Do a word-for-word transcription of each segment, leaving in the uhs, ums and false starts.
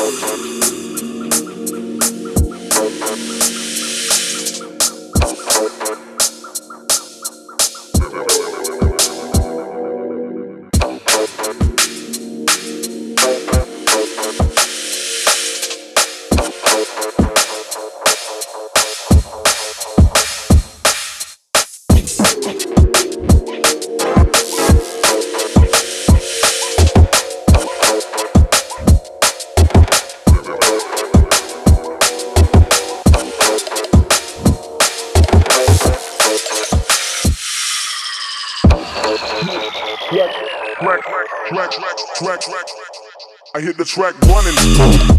track, track, track, track. I hit the track running.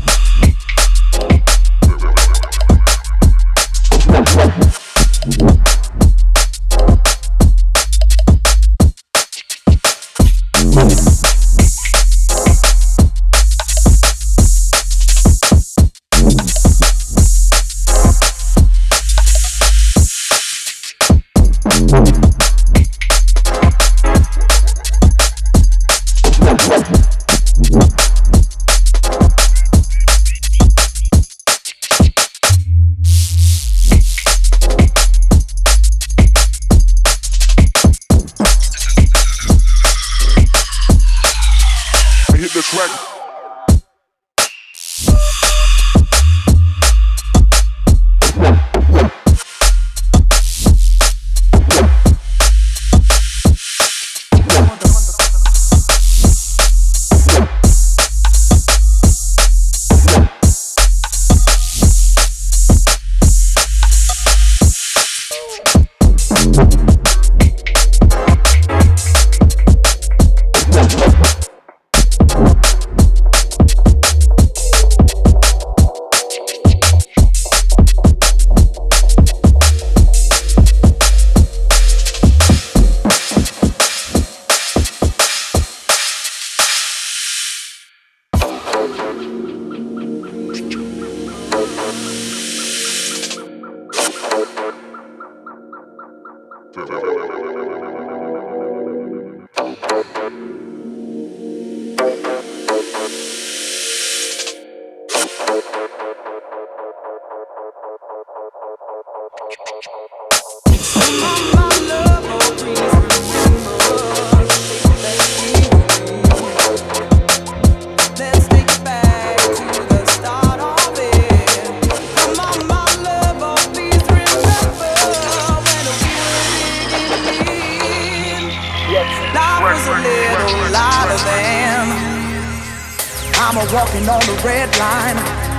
Walking on the red line,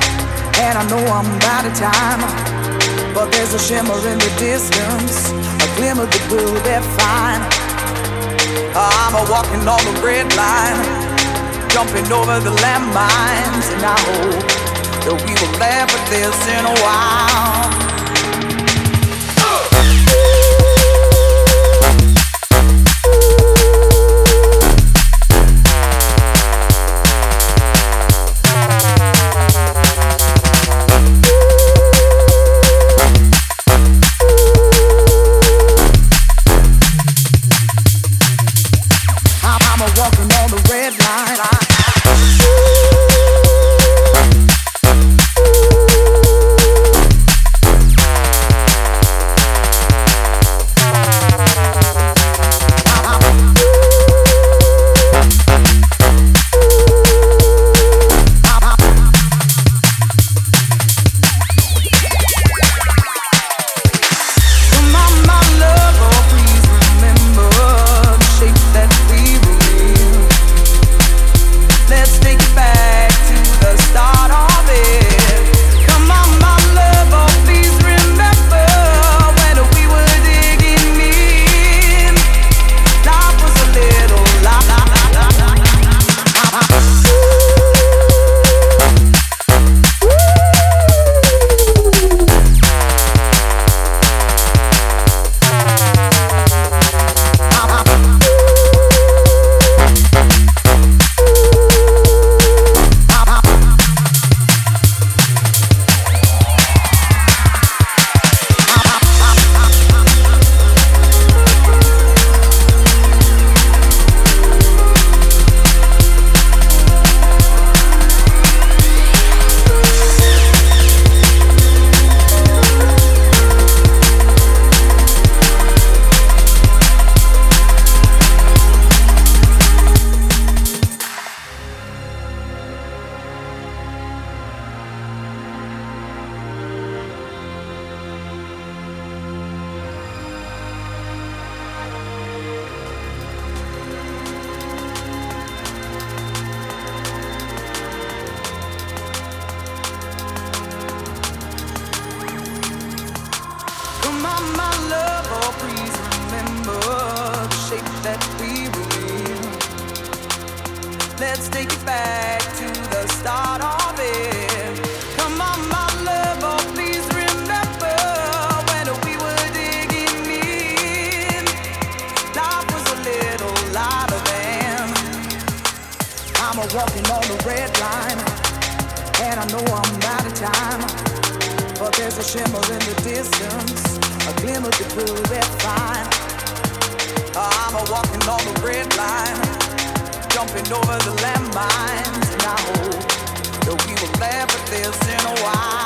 and I know I'm out of time, but there's a shimmer in the distance, a glimmer that will define. I'm a walking on the red line, jumping over the landmines, and I hope that we will laugh at this in a while. let's take it back to the start of it. Come on, my love, oh, please remember when we were digging in. Life was a little lighter then. I'm a walking on the red line, and I know I'm out of time, but there's a shimmer in the distance, a glimmer that will refine. I'm a walking on the red line, jumping over the landmines, and I hope that we will laugh at this in a while.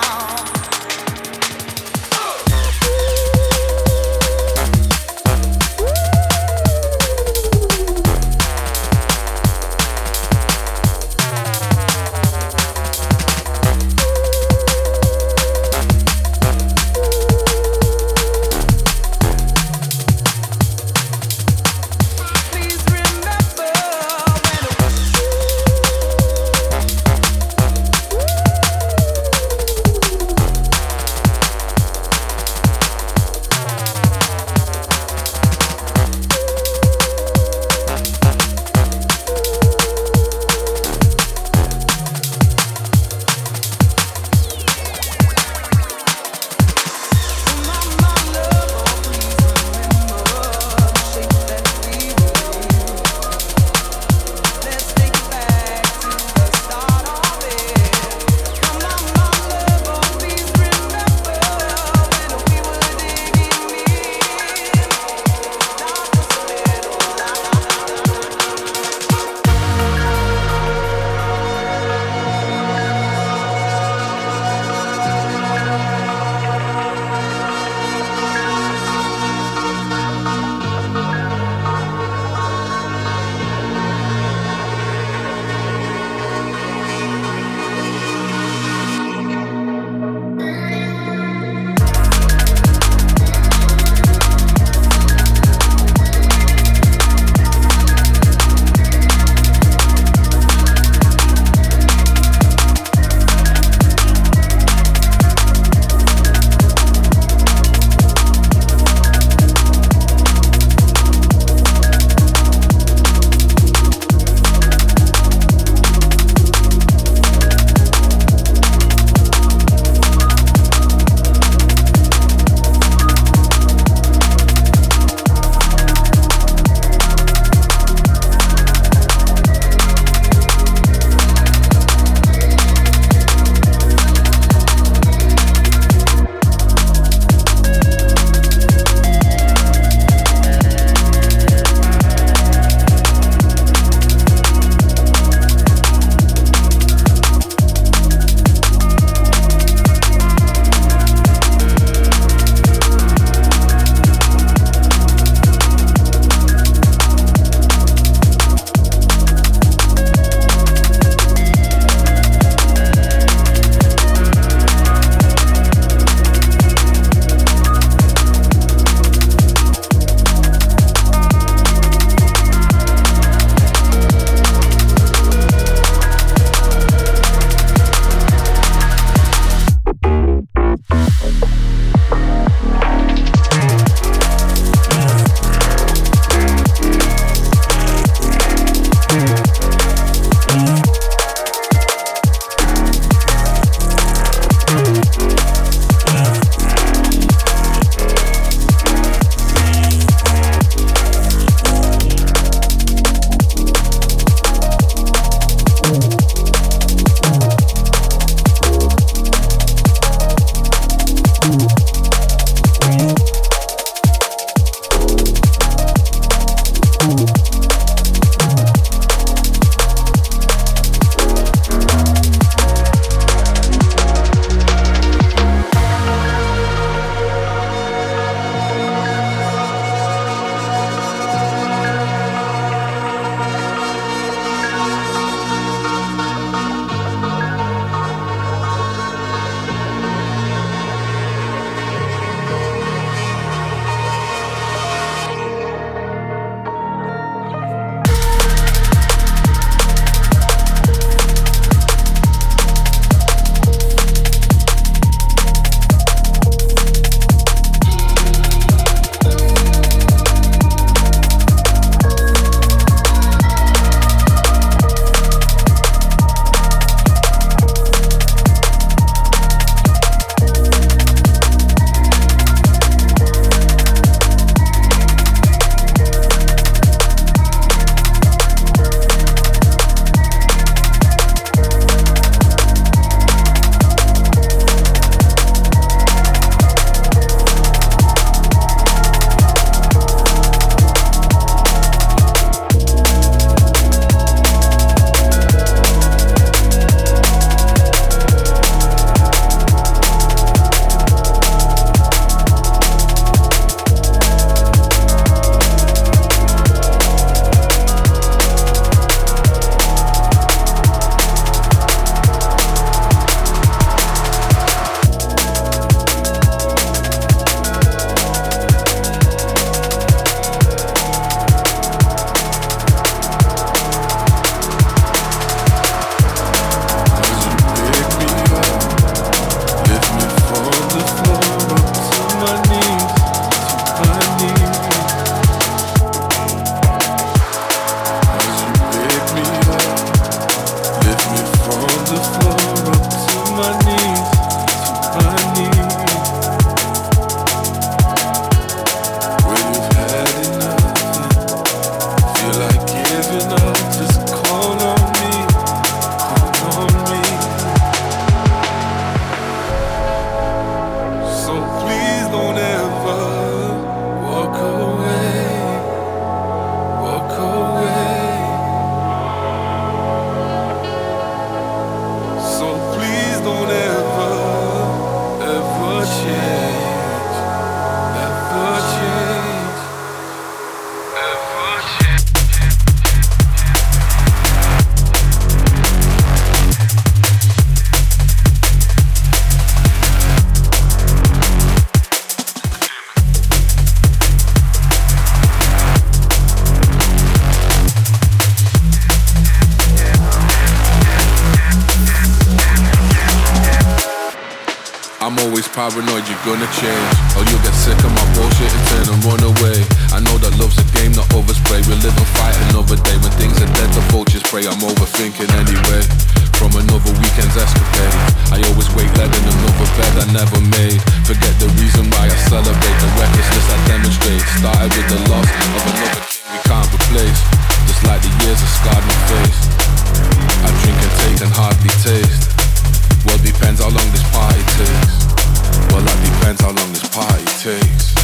always paranoid you're gonna change, or you'll get sick of my bullshit and turn and run away. I know that love's a game, not overspray. We live and fight another day. When things are dead, the vultures prey. I'm overthinking anyway. From another weekend's escapade, I always wake led in another bed I never made. Forget the reason why I celebrate, the recklessness I demonstrate. Started with the loss of another king we can't replace. Just like the years have scarred my face. I drink and take and hardly taste. Well, depends how long this party takes. Well, that depends how long this party takes.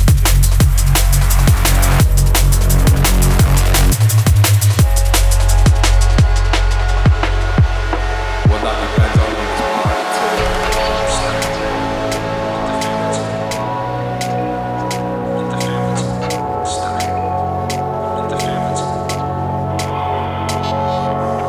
Well, that depends how long this party takes.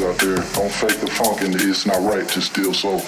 out there. Don't fake the funk and it's not right to steal soul.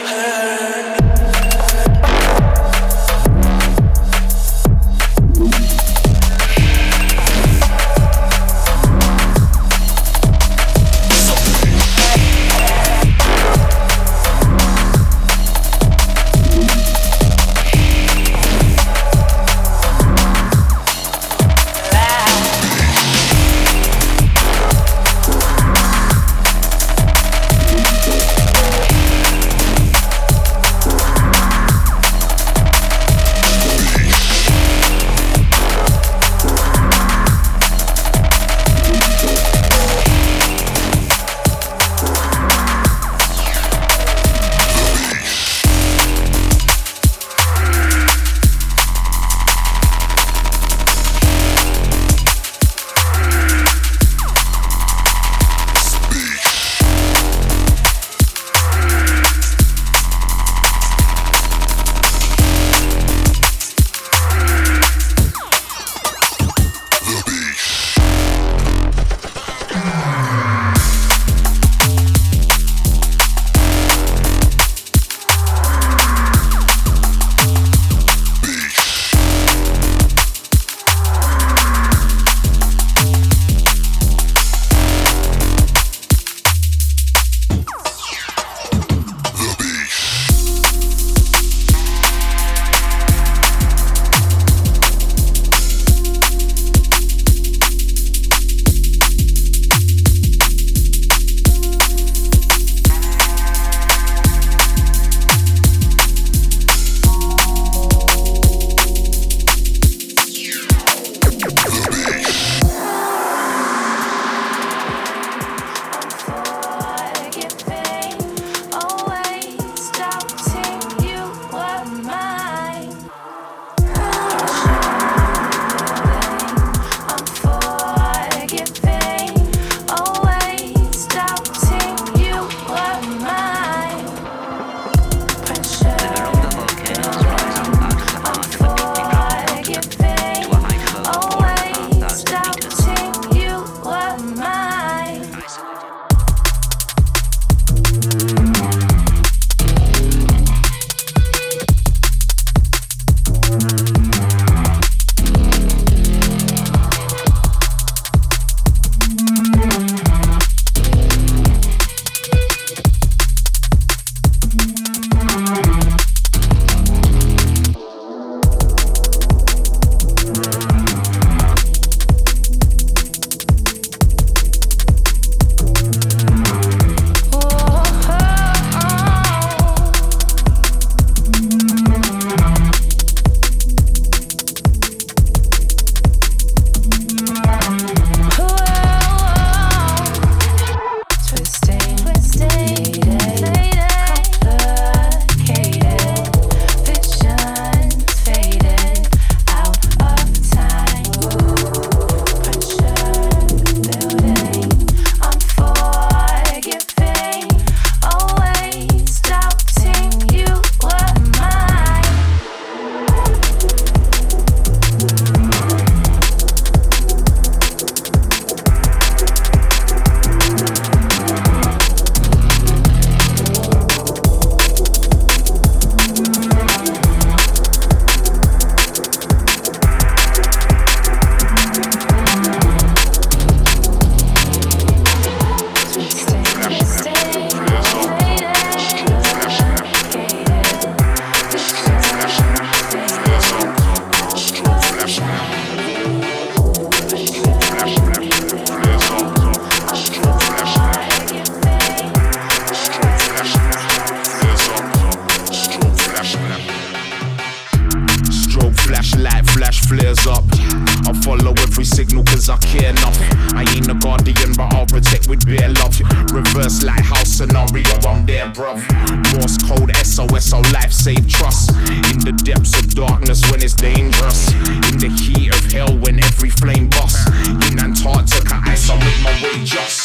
flares up. I'll follow every signal cause I care enough. I ain't a guardian but I'll protect with bare love. Reverse lighthouse scenario, I'm there bruv. Morse code S O S, our life save trust. In the depths of darkness when it's dangerous. In the heat of hell when every flame busts. In Antarctica ice I'll make my way just.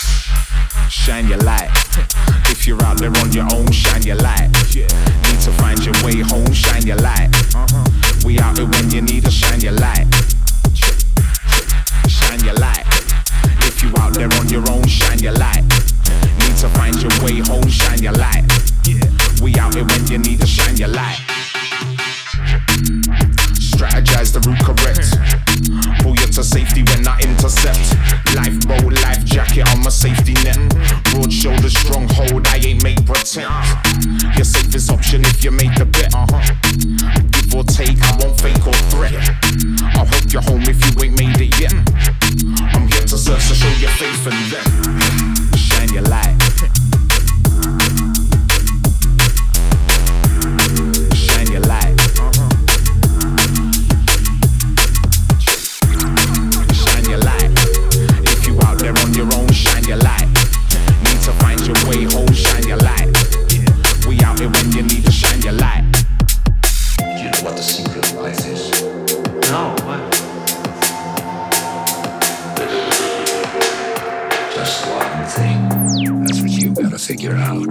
Shine your light. If you're out there on your own, shine your light. Need to find your way home, shine your light. We out here when you need us, shine your light. Shine your light. If you out there on your own, shine your light. Need to find your way home, shine your light. We out here when when you need to shine your light. Strategize the route correct. Pull you to safety when I intercept. Lifeboat, life jacket on my safety net. Broad shoulders, strong hold, I ain't make pretend. Your safest option if you made the bet. Uh-huh. Give or take, I won't fake or threat. I'll help you home if you ain't made it yet. I'm here to serve, so show your faith and then shine your light. Shine your light. Shine your light. If you out there on your own, shine your light. Need to find your way home, shine your light. We out here when you need to shine your light. Do you know what the secret of life is? No, what? Just one thing. That's what you gotta figure out.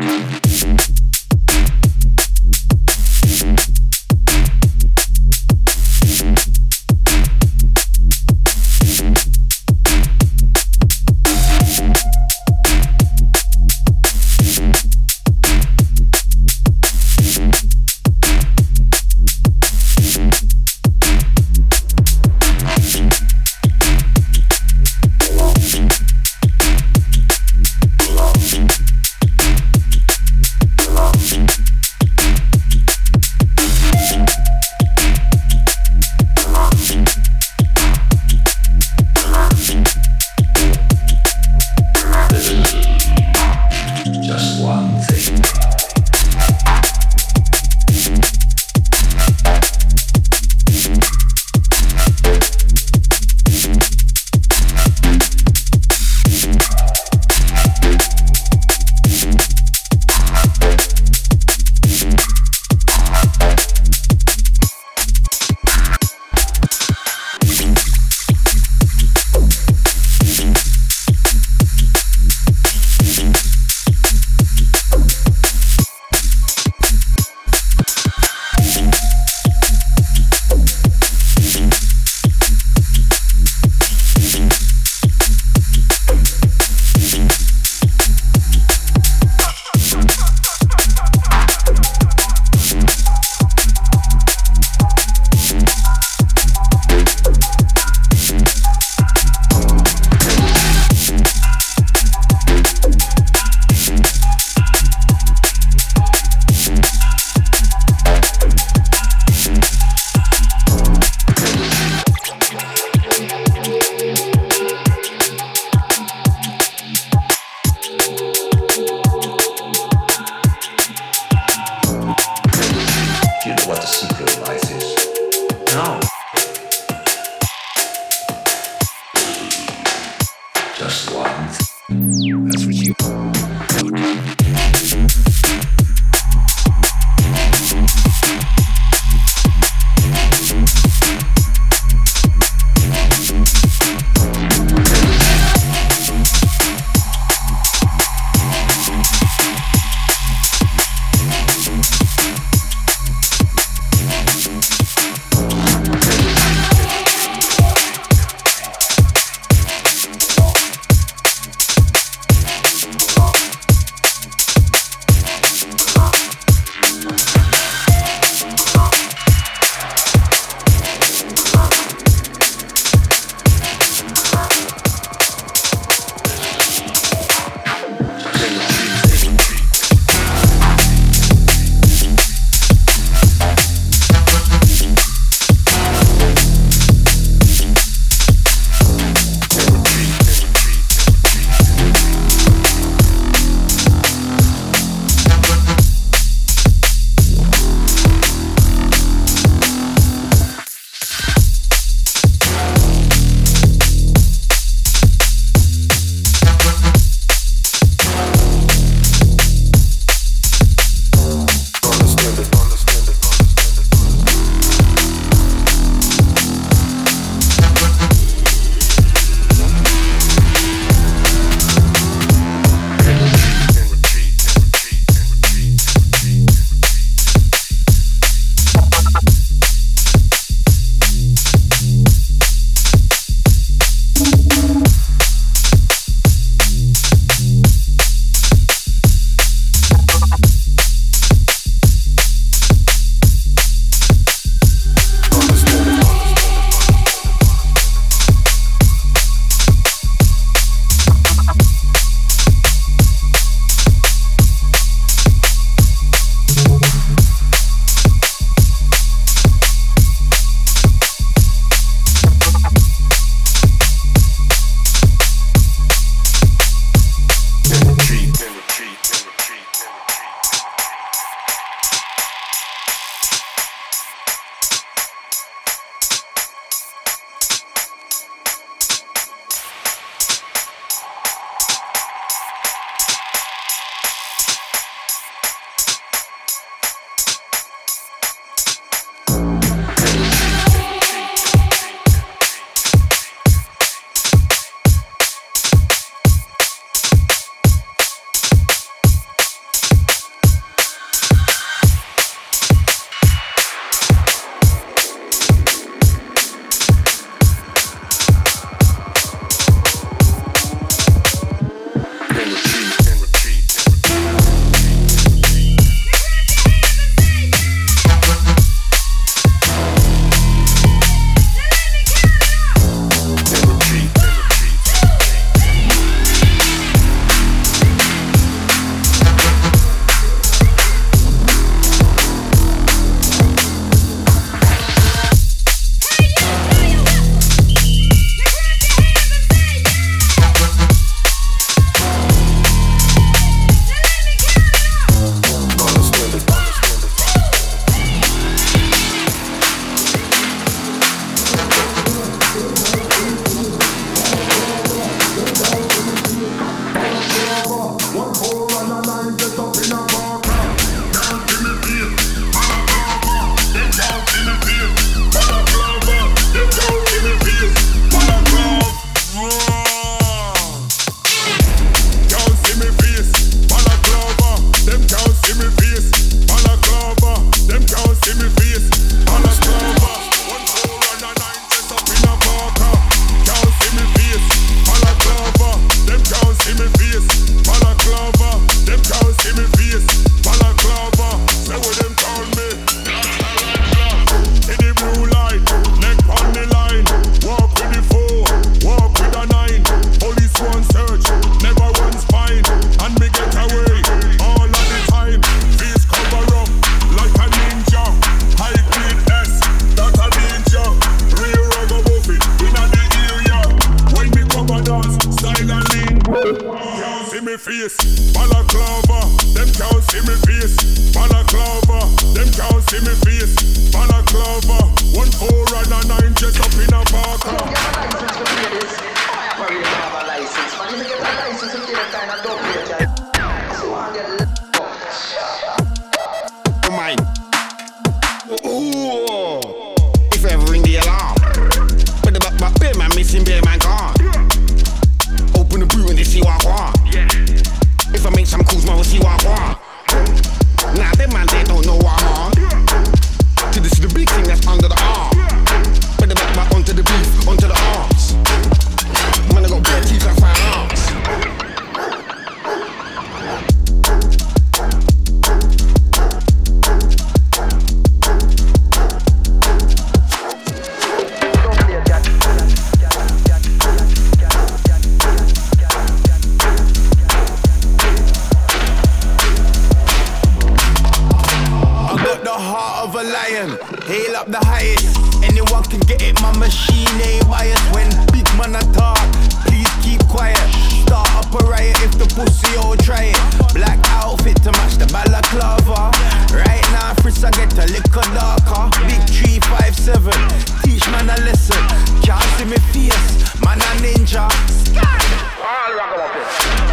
heart of a lion. Hail up the highest. Anyone can get it, my machine ain't biased. When big man attack, please keep quiet. Start up a riot if the pussy all try it. Black outfit to match the balaclava. Right now, Fritz, I get a little darker. Big three five seven, teach man a lesson. Can't see me face, man a ninja. All ragamuffin.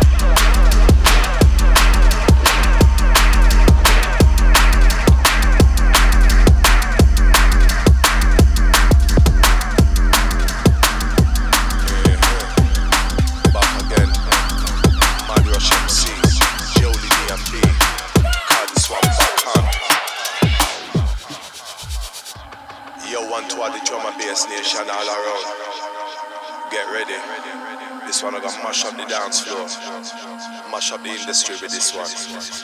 The drum and bass nation all around. Get ready. This one I got mash up the dance floor. Mash up the industry with this one.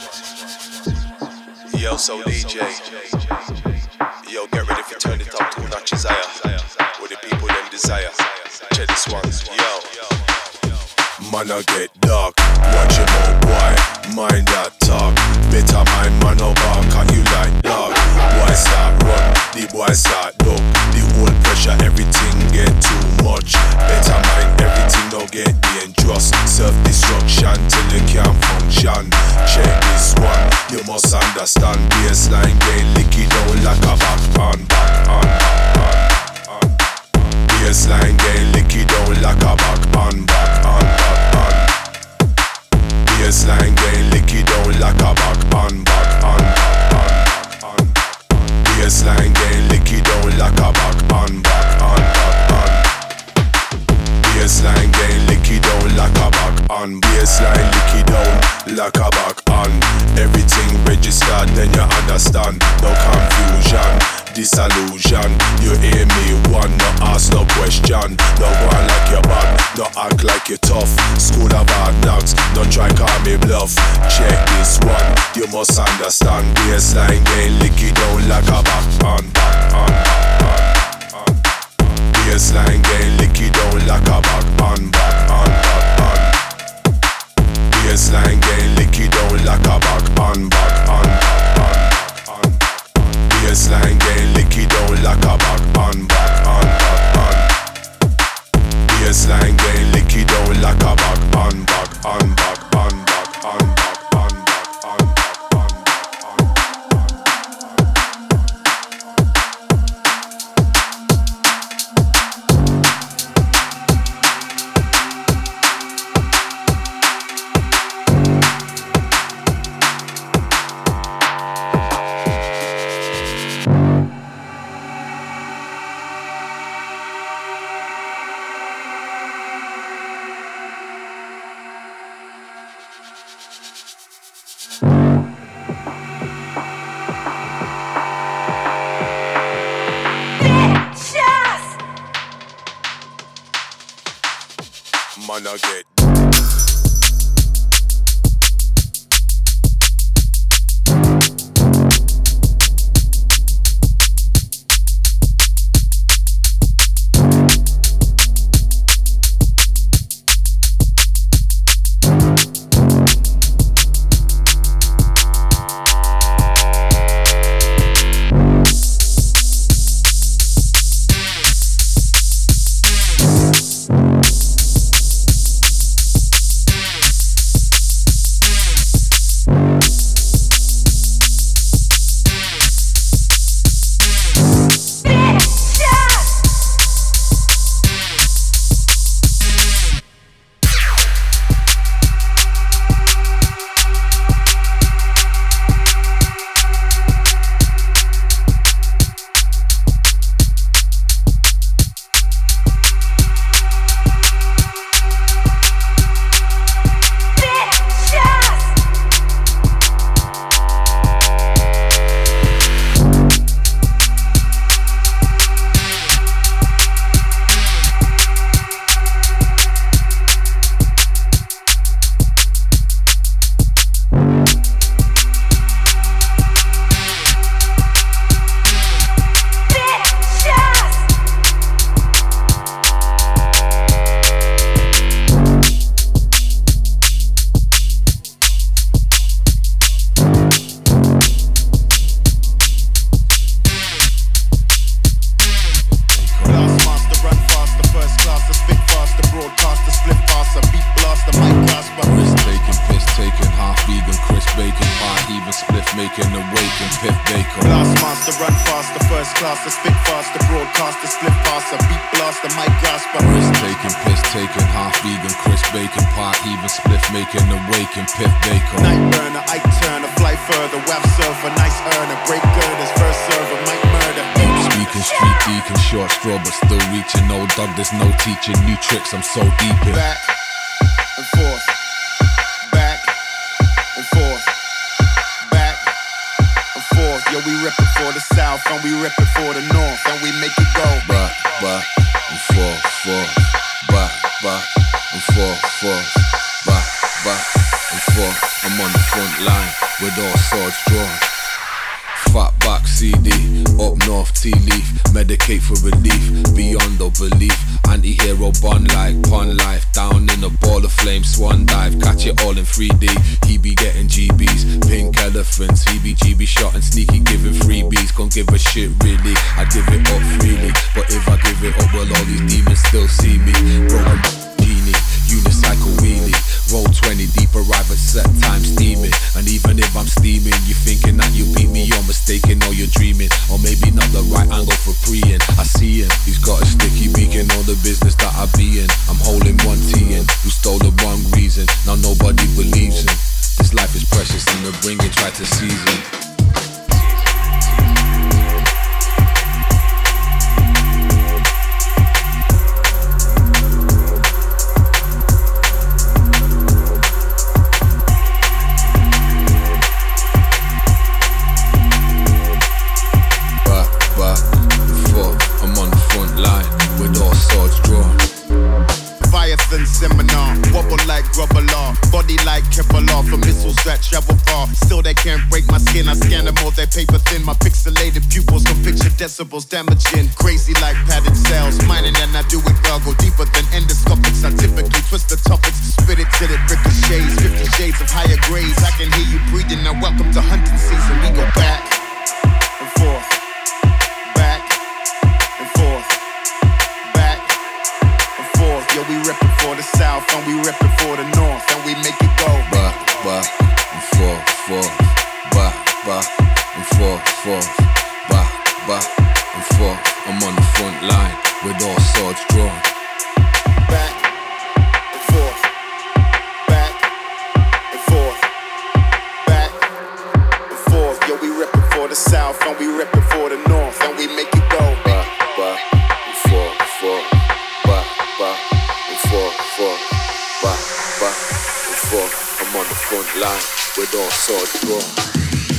Yo, so D J. Yo, get ready for turn it up two notches higher. With the people them desire. Check this one. Yo. Man I get dark. Watch your mouth, boy. Mind that talk. Better mind man over. Can you like dog? Boy start run. The boy start dog. The whole pressure, everything get too much. Better mind everything, don't get dangerous. Self-destruction till you can't function. Check this one, you must understand. Baseline get licky down like a back on, back on, back on. Baseline get licky down like a back on, back on, back on. Baseline get licky down like a back on, back on, back on. Baseline get licky down like a back on, back on, back on. Baseline get licky down like a back on. Baseline licky down like a back on. Everything registered, then you understand. No confusion, disillusion. You hear me one, no ask no question. No one like your bad, no act like you tough. School of hard knocks, don't try call me bluff. Check this one, you must understand. Baseline get licky down like a back on, back on, back on. Baseline get licky down like a back on, back on, back on. Baseline get licky down like a back on, back on, back on. Baseline get licky down like a back on, back on, back on. Baseline get licky down like a back on, back on, back on, back on, back on, back on, back on, back on. Man, I get and Piff Baker. Blast master, run faster, first class, the spit faster, broadcaster, split faster, beat blaster, mic grasper. Risk taking, piss taking, half vegan, crisp bacon, part even spliff making, awaken, Piff Baker. Night burner, Ike Turner, fly further, web surfer, nice earner, break girders, first server, mic murder. Deep speaking, street deacon, short straw, but still reaching. No dog, there's no teaching, new tricks, I'm so deep in. Back and forth, back and forth, back and forth. Yo, we rip it for the south and we rip it for the north and we make it go back, back and forth, forth, back, back and forth, forth, back, back and forth. I'm on the front line with all swords drawn. Fat back C D, up north tea leaf, medicate for relief, beyond all belief. Anti-hero bun like pun life, down in a ball of flame, swan dive, catch it all in three D. He be getting G Bs, pink elephants, he be G B shot and sneaky giving freebies. Can't give a shit really, I give it up freely, but if I give it up, well all these demons still see me. Bro, I'm genie, unicycle wheelie. Roll twenty deep, arrive at set time steaming. And even if I'm steaming, you thinking that you beat me, you're mistaken or you're dreaming. Or maybe not the right angle for preying. I see him, he's got a sticky beak in all the business that I be in. I'm holding one T in, who stole the wrong reason. Now nobody believes him. This life is precious and the bringing try to seize him. Seminar, wobble like rubber law, body like Kevlar for missiles that travel far. Still they can't break my skin, I scan them all, they paper thin. My pixelated pupils can picture decibels damaging. Crazy like padded cells, mining and I do it well. Go deeper than endoscopics, I typically twist the topics. Spit it till it ricochets, fifty shades of higher grades. I can hear you breathing, now welcome to hunting season. We go back and forth, back and forth, back and forth. Yo, we rip it for the south and we rip it for the north and we make it go back, back and forth, forth, back, back and forth, forth, back, back and forth. I'm on the front line with all swords drawn. Back and forth, back and forth, back and forth. Yo, we rip it for the south and we rip it for the north and we make it go back, back and forth, forth, back, back and forth, forth, back, back and forth. I'm on the front line with all swords drawn.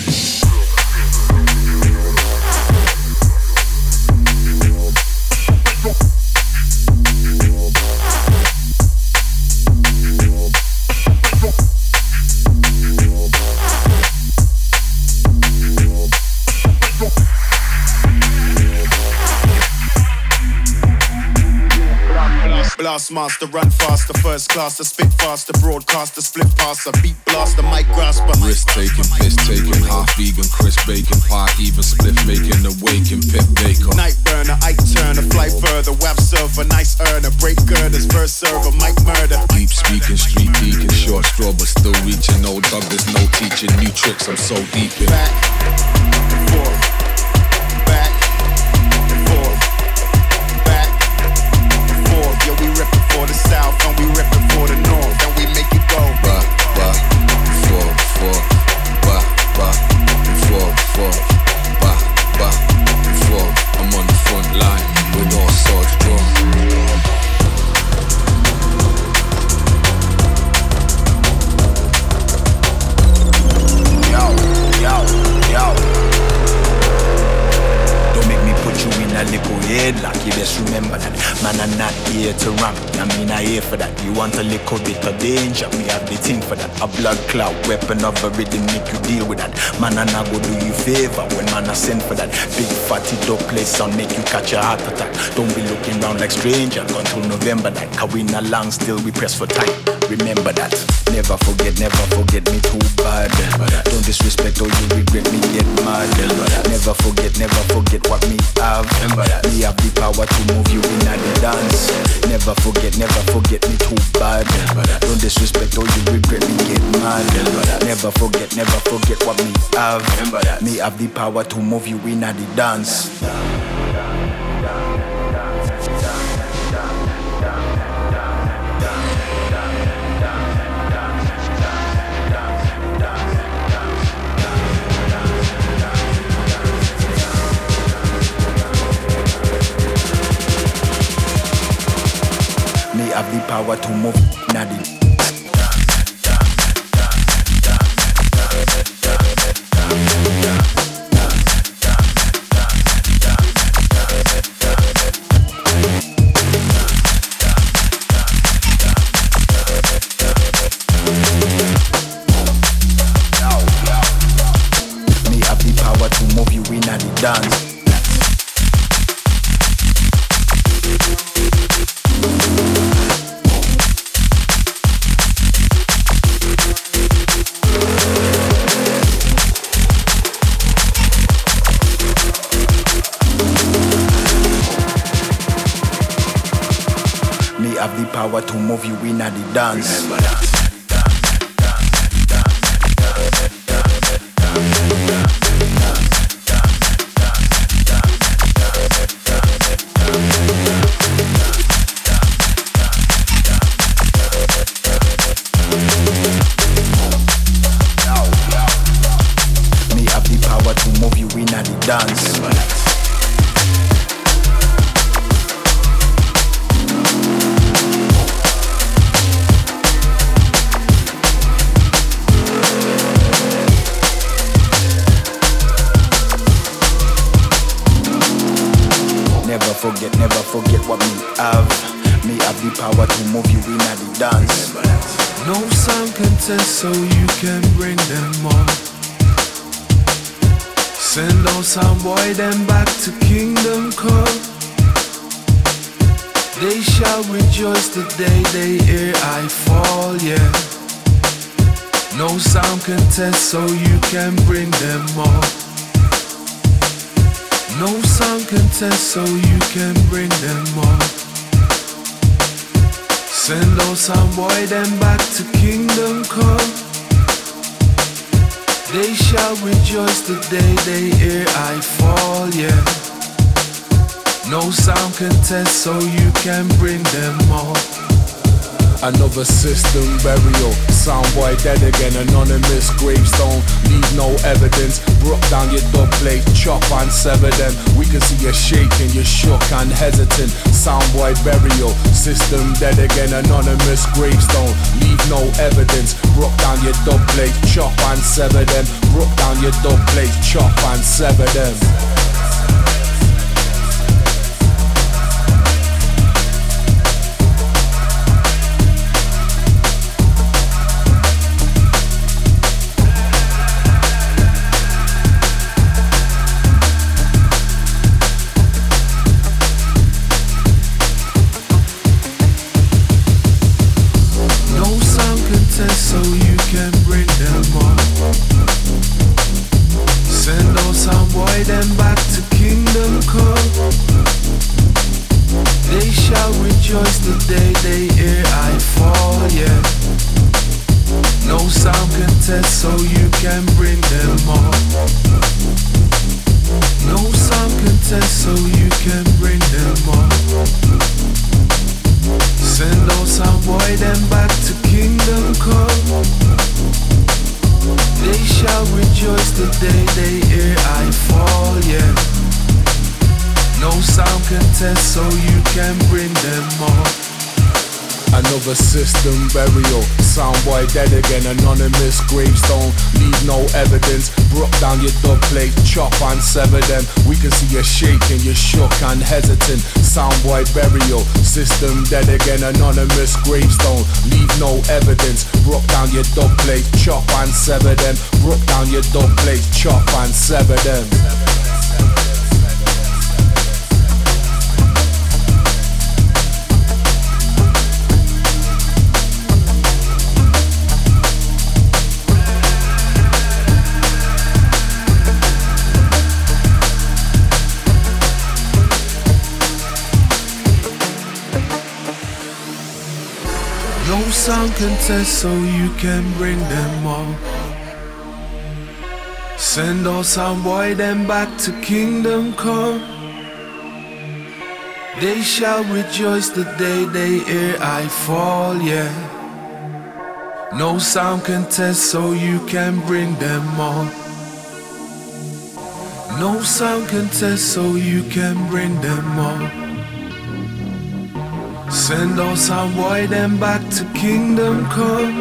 Blast master, run faster, first class, the spit faster, broadcaster, split passer, beat blaster, mic grasper. Risk taking, piss taking, half vegan, crisp bacon, part even spliff making, awaken, Piff Baker. Night burner, Ike Turner, fly further, web surfer, nice earner, break girders, verse server, mic murder. Deep speaking, street deacon, short straw, but still reaching. No dog, there's no teaching, new tricks, I'm so deep in. Back and forth, back and forth, back and forth. Yo, we rip it for the south and we rip it for the north and we make it go back, back and forth, forth, back, back and forth, forth, back, back and forth. I'm on the front line with all swords drawn. Yo, yo, yo. Don't make me put you in a little headlock. You just remember that. Man, I'm not here to ramp. I mean, I here for that. You want a little bit of danger, me have the thing for that. A blood clot, weapon of a rhythm, make you deal with that. Man, I not go do you favor when man I send for that. Big fatty dope place on make you catch a heart attack. Don't be looking round like stranger until November that. Cause we not long still, we press for time. Remember that. Never forget, never forget me too bad. Don't disrespect or you regret me get mad. Never forget, never forget what me have. Remember that. Me have the power to move you in the dance. Never forget, never forget me too bad. Don't disrespect or you regret me get mad. Never forget, never forget what me have. Me have the power to move you in the dance. Have the power to move Nadi. Me have the power to move you in the dance. Have the power to move you in the dance. Remember that. Me have the power to move you in the dance. Remember that. Never forget, never forget what me have. Me have the power to move you in the dance. No sound can test, so you can bring them on. Send on sound boy, them back to Kingdom Come. They shall rejoice the day they hear I fall, yeah. No sound can test, so you can bring them on. No sound can test, so you can bring them on. Send those sound boy them back to Kingdom Come. They shall rejoice the day they hear I fall, yeah. No sound can test, so you can bring them on. Another system burial, soundboy dead again, anonymous gravestone, leave no evidence, broke down your dub plate, chop and sever them, we can see you shaking, you shook and hesitant, soundboy burial, system dead again, anonymous gravestone, leave no evidence, broke down your dub plate, chop and sever them, broke down your dub plate, chop and sever them. So you can bring them on. Send on some boy them back to Kingdom Come. They shall rejoice the day they hear I fall, yeah. No sound can test, so you can bring them on. No sound can test, so you can bring them on. Send on some boy them back to Kingdom Come. They shall rejoice the day they hear I fall, yeah. No sound can test, so you can bring them on. Another system burial, soundboy dead again, anonymous gravestone, leave no evidence, broke down your dub plate, chop and sever them, we can see you shaking, you shook and hesitant, soundboy burial, system dead again, anonymous gravestone, leave no evidence, broke down your dub plate, chop and sever them, broke down your dub plate, chop and sever them. sound can test, so you can bring them all. Send all sound boy them back to kingdom come. They shall rejoice the day they hear I fall, yeah. No sound can test, so you can bring them all. No sound can test, so you can bring them all. Send all sound boy them back to kingdom come.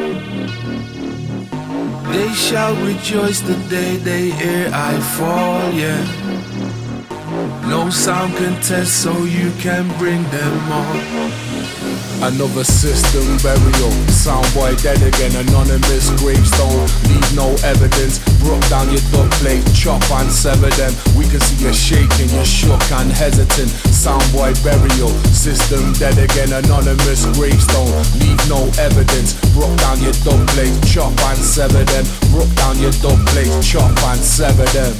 They shall rejoice the day they hear I fall, yeah. No sound can test, so you can bring them all. Another system burial, soundboy dead again, anonymous gravestone. Leave no evidence, broke down your dub plate, chop and sever them. We can see you shaking, you're shook and hesitant. Soundboy burial, system dead again, anonymous gravestone. Leave no evidence, broke down your dub plate, chop and sever them. Broke down your dub plate, chop and sever them.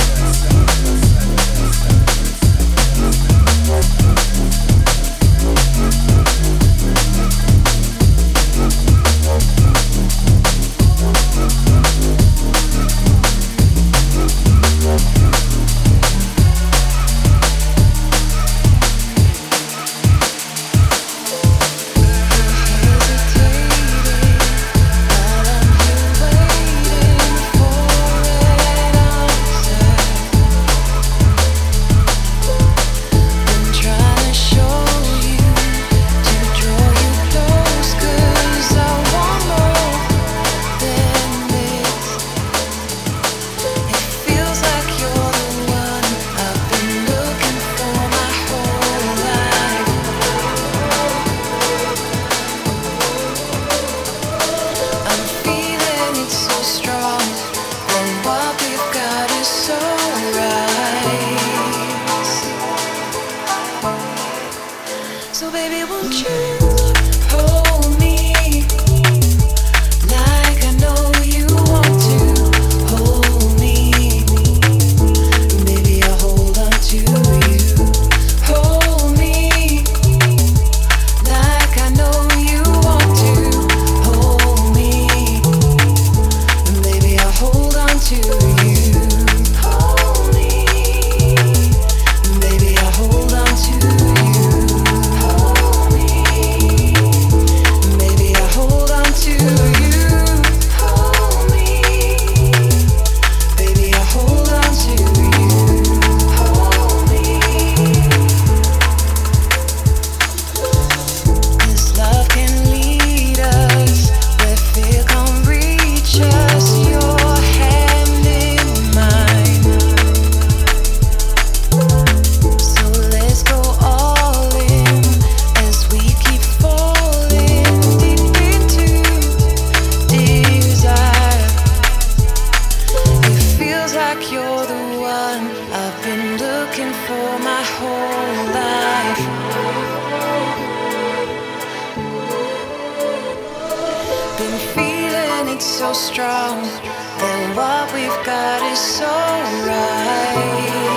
Been feeling it so strong, and what we've got is so right.